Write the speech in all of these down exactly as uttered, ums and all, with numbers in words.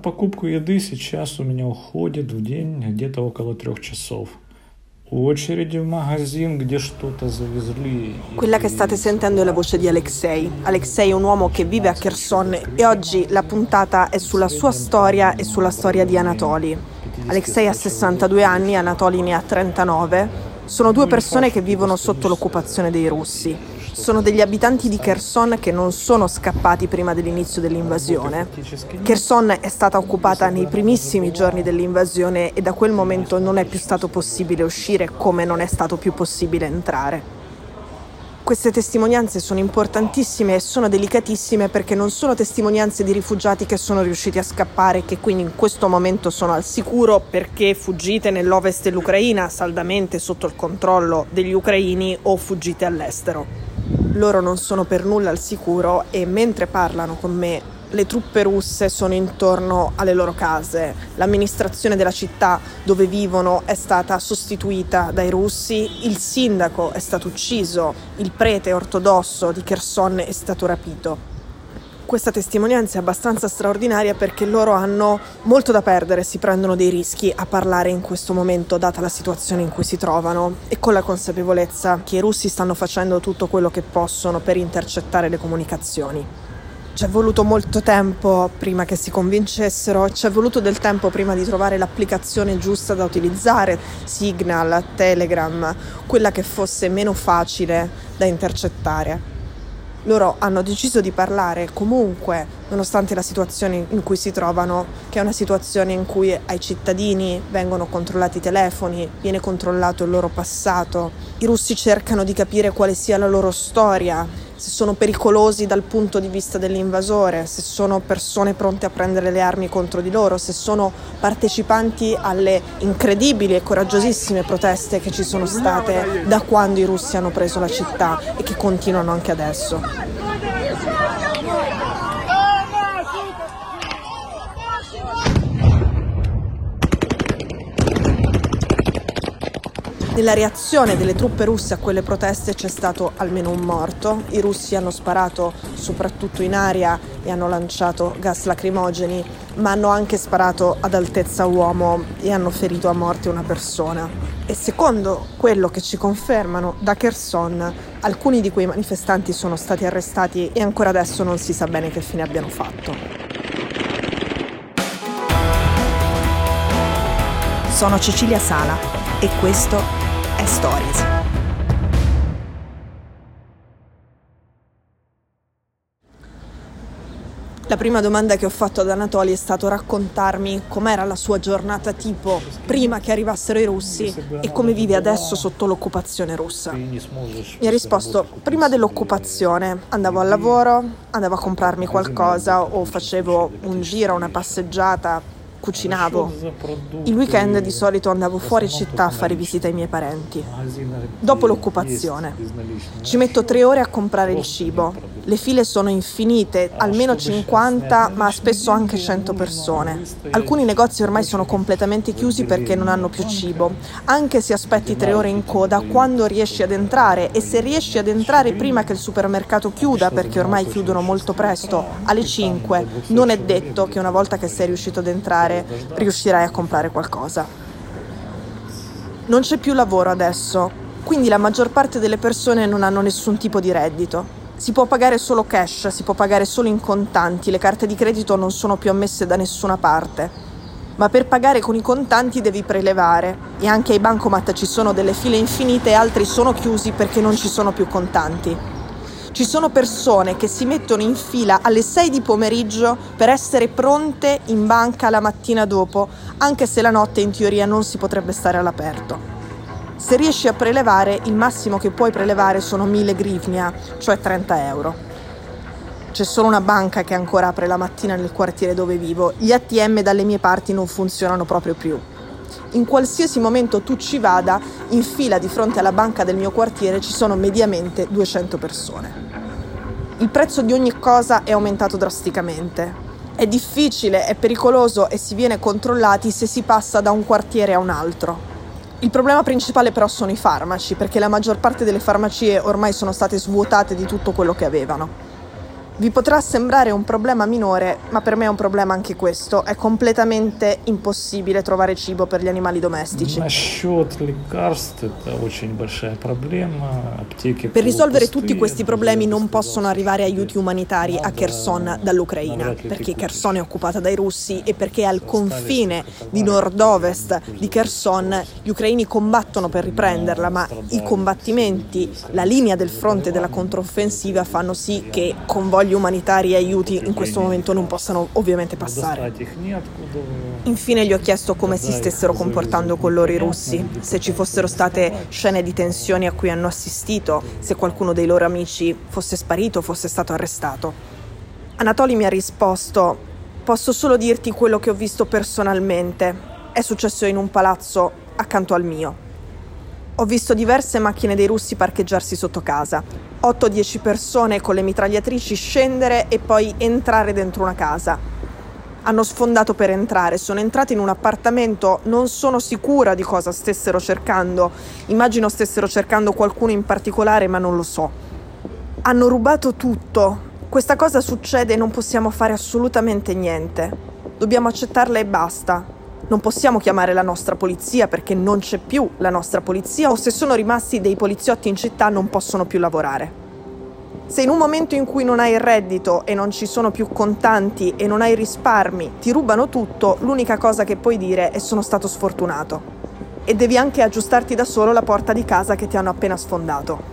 покупку еды сейчас у меня уходит в день где-то около трех часов. Очереди в магазин, где что-то завезли. Quella che state sentendo è la voce di Alexei. Alexei è un uomo che vive a Kherson e oggi la puntata è sulla sua storia e sulla storia di Anatoli. Alexei ha sessantadue anni, Anatoli ne ha trentanove. Sono due persone che vivono sotto l'occupazione dei russi. Sono degli abitanti di Kherson che non sono scappati prima dell'inizio dell'invasione. Kherson è stata occupata nei primissimi giorni dell'invasione e da quel momento non è più stato possibile uscire come non è stato più possibile entrare. Queste testimonianze sono importantissime e sono delicatissime perché non sono testimonianze di rifugiati che sono riusciti a scappare e che quindi in questo momento sono al sicuro perché fuggite nell'ovest dell'Ucraina saldamente sotto il controllo degli ucraini o fuggite all'estero. Loro non sono per nulla al sicuro e mentre parlano con me le truppe russe sono intorno alle loro case. L'amministrazione della città dove vivono è stata sostituita dai russi, il sindaco è stato ucciso, il prete ortodosso di Kherson è stato rapito. Questa testimonianza è abbastanza straordinaria perché loro hanno molto da perdere, si prendono dei rischi a parlare in questo momento data la situazione in cui si trovano e con la consapevolezza che i russi stanno facendo tutto quello che possono per intercettare le comunicazioni. Ci è voluto molto tempo prima che si convincessero, ci è voluto del tempo prima di trovare l'applicazione giusta da utilizzare, Signal, Telegram, quella che fosse meno facile da intercettare. Loro hanno deciso di parlare comunque, nonostante la situazione in cui si trovano, che è una situazione in cui ai cittadini vengono controllati i telefoni, viene controllato il loro passato. I russi cercano di capire quale sia la loro storia, se sono pericolosi dal punto di vista dell'invasore, se sono persone pronte a prendere le armi contro di loro, se sono partecipanti alle incredibili e coraggiosissime proteste che ci sono state da quando i russi hanno preso la città e che continuano anche adesso. Nella reazione delle truppe russe a quelle proteste c'è stato almeno un morto. I russi hanno sparato soprattutto in aria e hanno lanciato gas lacrimogeni, ma hanno anche sparato ad altezza uomo e hanno ferito a morte una persona. E secondo quello che ci confermano da Kherson, alcuni di quei manifestanti sono stati arrestati e ancora adesso non si sa bene che fine abbiano fatto. Sono Cecilia Sala e questo è Stories. La prima domanda che ho fatto ad Anatoli è stato raccontarmi com'era la sua giornata tipo prima che arrivassero i russi e come vive adesso sotto l'occupazione russa. Mi ha risposto: prima dell'occupazione andavo al lavoro, andavo a comprarmi qualcosa o facevo un giro, una passeggiata, cucinavo. Il weekend di solito andavo fuori città a fare visita ai miei parenti. Dopo l'occupazione ci metto tre ore a comprare il cibo. Le file sono infinite, almeno cinquanta, ma spesso anche cento persone. Alcuni negozi ormai sono completamente chiusi perché non hanno più cibo. Anche se aspetti tre ore in coda, quando riesci ad entrare, e se riesci ad entrare prima che il supermercato chiuda, perché ormai chiudono molto presto, alle cinque, non è detto che una volta che sei riuscito ad entrare riuscirai a comprare qualcosa. Non c'è più lavoro adesso, quindi la maggior parte delle persone non hanno nessun tipo di reddito. Si può pagare solo cash, si può pagare solo in contanti, le carte di credito non sono più ammesse da nessuna parte. Ma per pagare con i contanti devi prelevare e anche ai bancomat ci sono delle file infinite e altri sono chiusi perché non ci sono più contanti. Ci sono persone che si mettono in fila alle sei di pomeriggio per essere pronte in banca la mattina dopo, anche se la notte in teoria non si potrebbe stare all'aperto. Se riesci a prelevare, il massimo che puoi prelevare sono mille grivnia, cioè trenta euro. C'è solo una banca che ancora apre la mattina nel quartiere dove vivo. Gli A T M dalle mie parti non funzionano proprio più. In qualsiasi momento tu ci vada, in fila di fronte alla banca del mio quartiere ci sono mediamente duecento persone. Il prezzo di ogni cosa è aumentato drasticamente. È difficile, è pericoloso e si viene controllati se si passa da un quartiere a un altro. Il problema principale però sono i farmaci, perché la maggior parte delle farmacie ormai sono state svuotate di tutto quello che avevano. Vi potrà sembrare un problema minore, ma per me è un problema anche questo. È completamente impossibile trovare cibo per gli animali domestici. Насчет лекарств это очень большая проблема. Аптеки Per risolvere полупустые. tutti questi problemi Я бы non сказал, possono arrivare что aiuti umanitari a Kherson dall'Ucraina, perché Kherson è occupata dai russi e perché al confine di nord-ovest di Kherson gli ucraini combattono per riprenderla, ma i combattimenti, la linea del fronte della controffensiva fanno sì che convogli umanitari e aiuti in questo momento non possano ovviamente passare. достать их неоткуда. Infine gli ho chiesto come si stessero comportando con loro i russi, se ci fossero state scene di tensioni a cui hanno assistito, se qualcuno dei loro amici fosse sparito o fosse stato arrestato. Anatoli mi ha risposto: posso solo dirti quello che ho visto personalmente. È successo in un palazzo accanto al mio. Ho visto diverse macchine dei russi parcheggiarsi sotto casa, otto dieci persone con le mitragliatrici scendere e poi entrare dentro una casa. Hanno sfondato per entrare, sono entrati in un appartamento, non sono sicura di cosa stessero cercando, immagino stessero cercando qualcuno in particolare, ma non lo so. Hanno rubato tutto. Questa cosa succede e non possiamo fare assolutamente niente. Dobbiamo accettarla e basta. Non possiamo chiamare la nostra polizia perché non c'è più la nostra polizia, o se sono rimasti dei poliziotti in città non possono più lavorare. Se in un momento in cui non hai il reddito e non ci sono più contanti e non hai risparmi, ti rubano tutto, l'unica cosa che puoi dire è sono stato sfortunato. E devi anche aggiustarti da solo la porta di casa che ti hanno appena sfondato.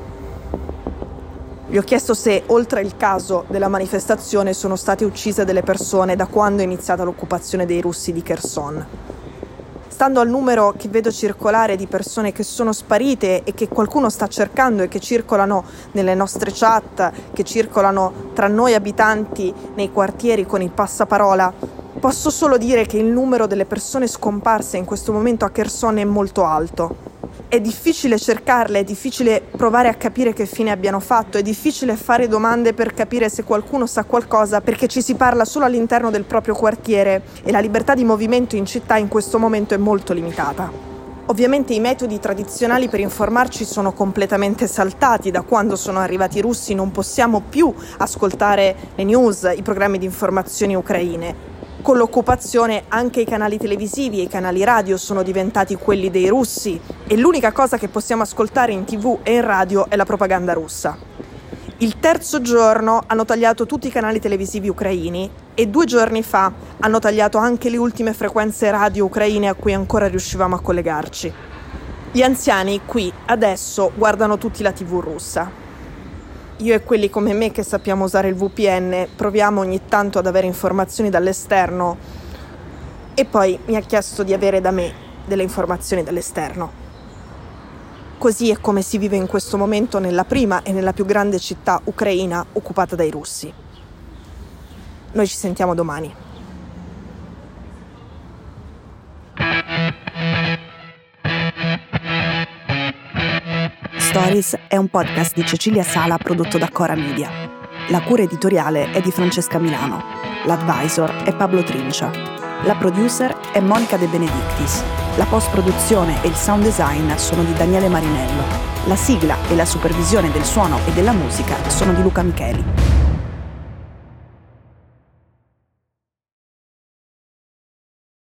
Gli ho chiesto se, oltre il caso della manifestazione, sono state uccise delle persone da quando è iniziata l'occupazione dei russi di Kherson. Stando al numero che vedo circolare di persone che sono sparite e che qualcuno sta cercando e che circolano nelle nostre chat, che circolano tra noi abitanti nei quartieri con il passaparola, posso solo dire che il numero delle persone scomparse in questo momento a Kherson è molto alto. È difficile cercarle, è difficile provare a capire che fine abbiano fatto, è difficile fare domande per capire se qualcuno sa qualcosa, perché ci si parla solo all'interno del proprio quartiere e la libertà di movimento in città in questo momento è molto limitata. Ovviamente i metodi tradizionali per informarci sono completamente saltati. Da quando sono arrivati i russi non possiamo più ascoltare le news, i programmi di informazioni ucraine. Con l'occupazione anche i canali televisivi e i canali radio sono diventati quelli dei russi e l'unica cosa che possiamo ascoltare in tv e in radio è la propaganda russa. Il terzo giorno hanno tagliato tutti i canali televisivi ucraini e due giorni fa hanno tagliato anche le ultime frequenze radio ucraine a cui ancora riuscivamo a collegarci. Gli anziani qui adesso guardano tutti la tv russa. Io e quelli come me che sappiamo usare il V P N proviamo ogni tanto ad avere informazioni dall'esterno e poi mi ha chiesto di avere da me delle informazioni dall'esterno. Così è come si vive in questo momento nella prima e nella più grande città ucraina occupata dai russi. Noi ci sentiamo domani. Stories è un podcast di Cecilia Sala prodotto da Cora Media. La cura editoriale è di Francesca Milano. L'advisor è Pablo Trincia. La producer è Monica De Benedictis. La post-produzione e il sound design sono di Daniele Marinello. La sigla e la supervisione del suono e della musica sono di Luca Micheli.